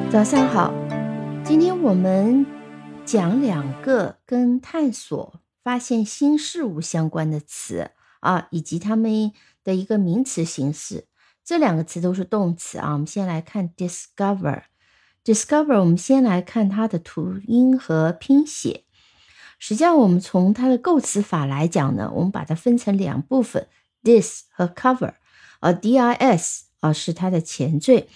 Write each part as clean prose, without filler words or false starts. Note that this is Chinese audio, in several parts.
早上好，今天我们讲两个跟探索、发现新事物相关的词以及它们的一个名词形式。这两个词都是动词我们先来看 discover。discover 我们先来看它的读音和拼写。实际上我们从它的构词法来讲呢，我们把它分成两部分 dis 和 cover。dis 是它的前缀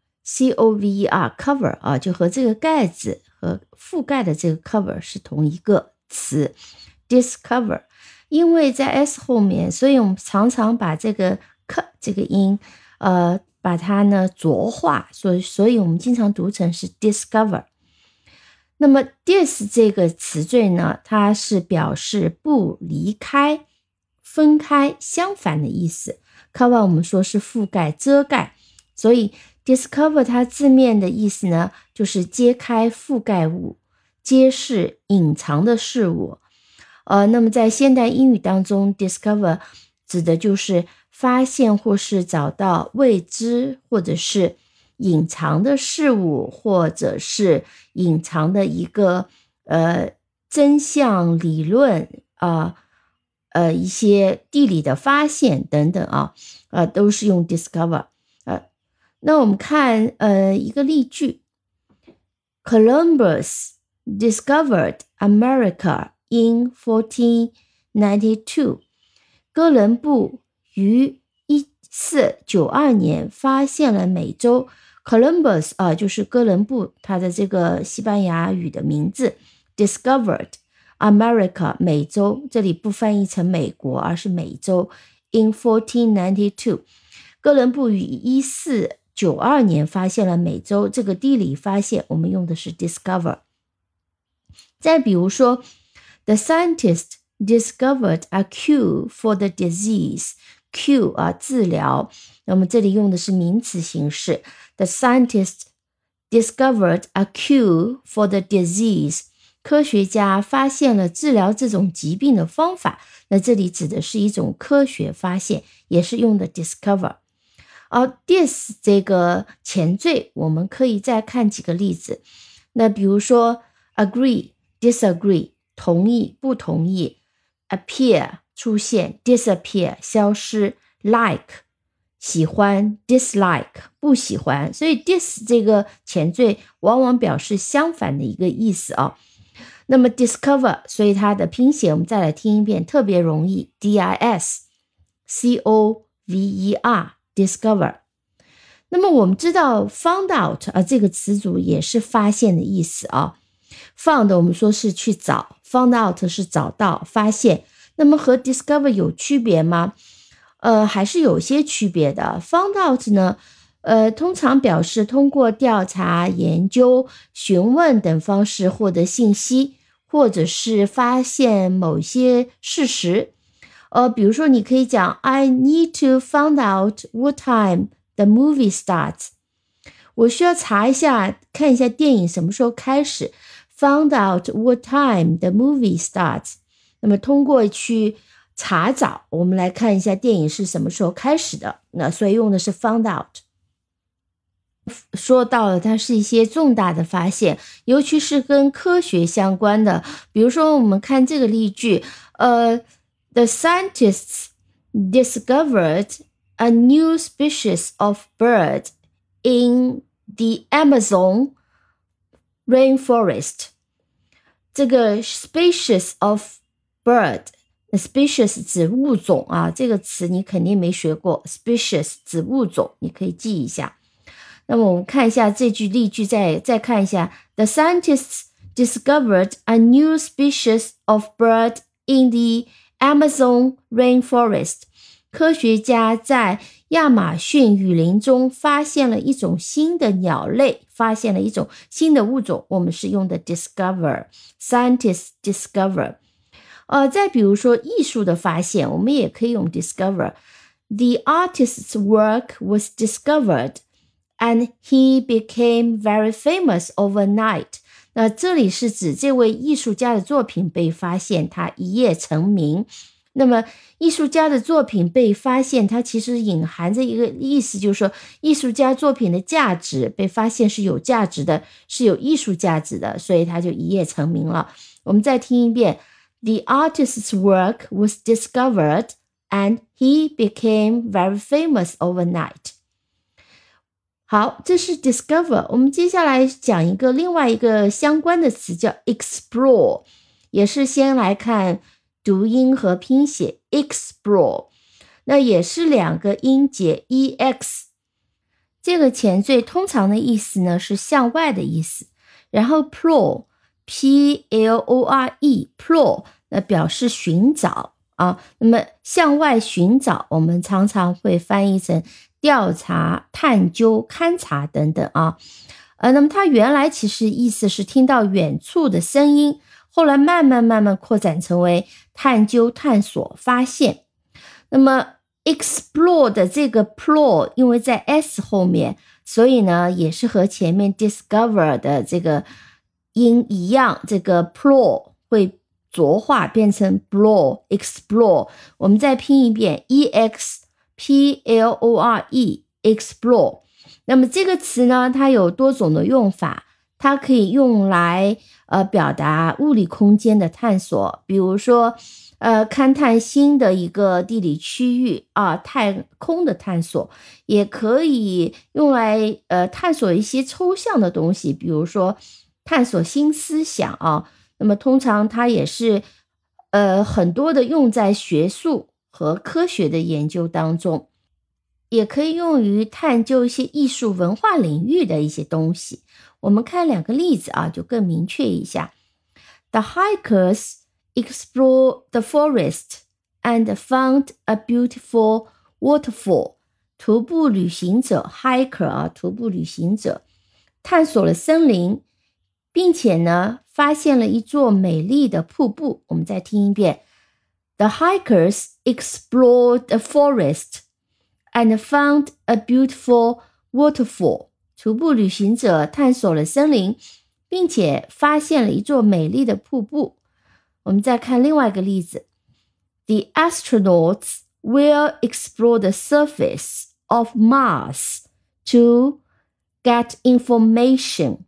，cover cover 就和这个盖子和覆盖的这个 cover 是同一个词 discover。 因为在 s 后面，所以我们常常把这个 k 这个音把它呢浊化，所以我们经常读成是 discover。 那么 dis 这个词缀呢，它是表示不离开、分开、相反的意思。 cover 我们说是覆盖、遮盖，所以 discover 它字面的意思呢，就是揭开覆盖物，揭示隐藏的事物。那么在现代英语当中 discover 指的就是发现或是找到未知或者是隐藏的事物，或者是隐藏的一个真相理论一些地理的发现等等都是用 discover。那我们看一个例句 Columbus discovered America in 1492。 哥伦布于1492年发现了美洲。 Columbus 就是哥伦布，他的这个西班牙语的名字。 discovered America 美洲，这里不翻译成美国，而是美洲。 in 1492， 哥伦布于1492年发现了美洲，这个地理发现我们用的是 discover。 再比如说 The scientist discovered a cure for the disease。 cure 治疗，那么这里用的是名词形式。 The scientist discovered a cure for the disease。 科学家发现了治疗这种疾病的方法，那这里指的是一种科学发现，也是用的 discover。dis 这个前缀我们可以再看几个例子。那比如说 agree disagree 同意不同意， appear 出现， disappear 消失， like 喜欢， dislike 不喜欢。所以 dis 这个前缀往往表示相反的一个意思那么 discover 所以它的拼写我们再来听一遍，特别容易 discover discover。 那么我们知道 found out 这个词组也是发现的意思found 我们说是去找， found out 是找到发现。那么和 discover 有区别吗？还是有些区别的。 found out 呢通常表示通过调查、研究、询问等方式获得信息，或者是发现某些事实。比如说你可以讲 I need to find out what time the movie starts。 我需要查一下，看一下电影什么时候开始。 Found out what time the movie starts。 那么通过去查找，我们来看一下电影是什么时候开始的，那所以用的是 found out。 说到了它是一些重大的发现，尤其是跟科学相关的。比如说我们看这个例句The scientists discovered a new species of bird in the Amazon rainforest。 这个 species of bird， species 指物种这个词你肯定没学过， species 指物种，你可以记一下。那么我们看一下这句例句，再看一下 The scientists discovered a new species of bird in the Amazon rainforest。 科学家在亚马逊雨林中发现了一种新的鸟类，发现了一种新的物种，我们是用的 discover， scientists discover。再比如说艺术的发现，我们也可以用 discover。 The artist's work was discovered and he became very famous overnight。 那这里是指这位艺术家的作品被发现，他一夜成名。 那么艺术家的作品被发现，它其实隐含着一个意思，就是说艺术家作品的价值被发现是有价值的，是有艺术价值的，所以他就一夜成名了。我们再听一遍 The artist's work was discovered and he became very famous overnight. 好，这是 discover。 我们接下来讲另外一个相关的词叫 explore， 也是先来看读音和拼写 explore， 那也是2个音节 ex， 这个前缀通常的意思呢是向外的意思，然后 plore P-L-O-R-E plore 那表示寻找啊，那么向外寻找我们常常会翻译成调查、探究、勘察等等啊。那么它原来其实意思是听到远处的声音，后来慢慢扩展成为探究、探索、发现。那么 explore 的这个 plore 因为在 s 后面，所以呢也是和前面 discover 的这个音一样，这个 plore 会浊化变成 blore explore。 我们再拼一遍 E-X-P-L-O-R-E explore。 那么这个词呢它有多种的用法，它可以用来表达物理空间的探索，比如说勘探新的一个地理区域啊，太空的探索，也可以用来探索一些抽象的东西，比如说探索新思想啊。那么通常它也是很多的用在学术和科学的研究当中，也可以用于探究一些艺术文化领域的一些东西。我们看2个例子啊，就更明确一下。 The hikers explored the forest and found a beautiful waterfall. 徒步旅行者 hiker 啊，徒步旅行者探索了森林，并且呢发现了一座美丽的瀑布。我们再听一遍 The hikers explored the forest and found a beautiful waterfall. 徒步旅行者探索了森林，并且发现了一座美丽的瀑布。我们再看另外一个例子 The astronauts will explore the surface of Mars to get information.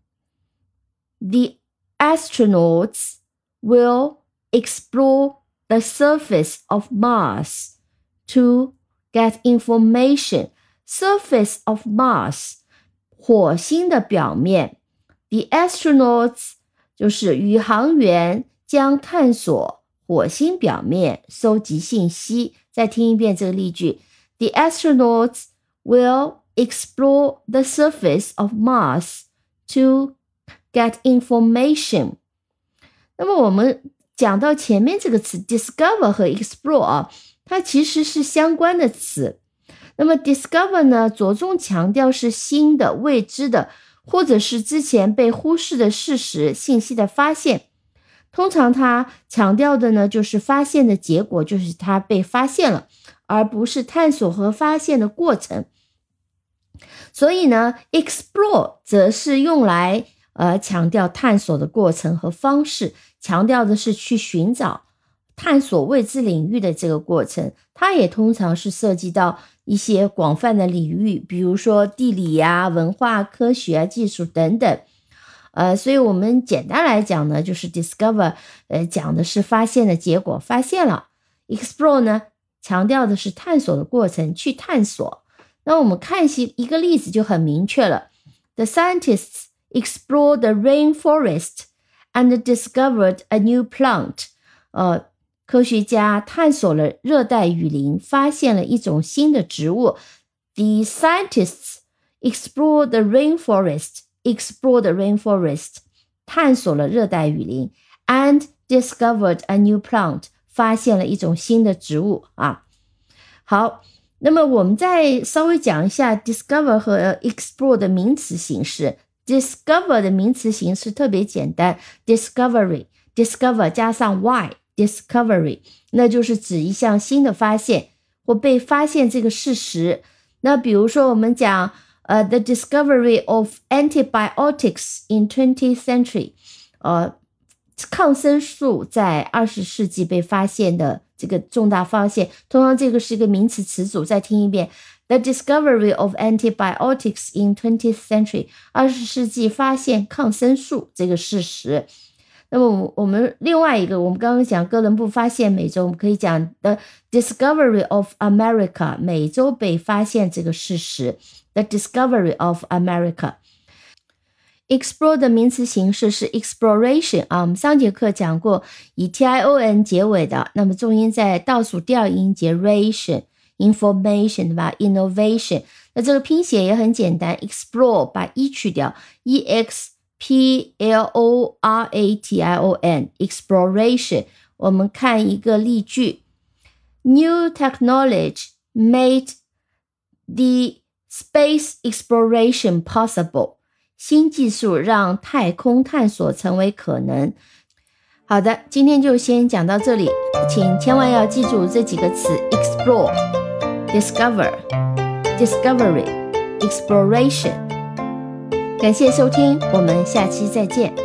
The astronauts will explore the surface of Mars to get information. Surface of Mars 火星的表面， The astronauts 就是宇航员将探索火星表面，收集信息。再听一遍这个例句 The astronauts will explore the surface of Mars to get information. 那么我们讲到前面这个词 discover 和 explore 啊，它其实是相关的词。那么 discover 呢，着重强调是新的、未知的，或者是之前被忽视的事实、信息的发现。通常它强调的呢，就是发现的结果，就是它被发现了，而不是探索和发现的过程。所以呢 explore 则是用来强调探索的过程和方式，强调的是去寻找探索未知领域的这个过程。它也通常是涉及到一些广泛的领域，比如说地理啊、文化、科学啊、技术等等。所以我们简单来讲呢，就是 discover 讲的是发现的结果，发现了。 explore 呢强调的是探索的过程，去探索。那我们看一个例子就很明确了。 The scientists explored the rainforest and discovered a new plant. 科学家探索了热带雨林，发现了一种新的植物。 The scientists explored the rainforest, explore 探索了热带雨林 and discovered a new plant, 发现了一种新的植物啊。好，那么我们再稍微讲一下 discover 和 explore 的名词形式。 discover 的名词形式特别简单， discover 加上 y discovery， 那就是指一项新的发现或被发现这个事实。那比如说我们讲the discovery of antibiotics in 20th century， 抗生素在20世纪被发现的这个重大发现，通常这个是一个名词词组，再听一遍。The discovery of antibiotics in 20th century 20世纪发现抗生素这个事实。那么我们另外一个，我们刚刚讲哥伦布发现美洲，我们可以讲 The discovery of America 美洲被发现这个事实。The discovery of America。 Explore 的名词形式是 exploration 啊，我们上节课讲过以 tion 结尾的，那么重音在倒数第二音节 ration information 对吧 innovation。 那这个拼写也很简单， explore 把 e 去掉 exploration exploration。 我们看一个例句， New technology made the space exploration possible。 新技术让太空探索成为可能。好的，今天就先讲到这里，请千万要记住这几个词 explore discover discovery exploration。 感谢收听，我们下期再见。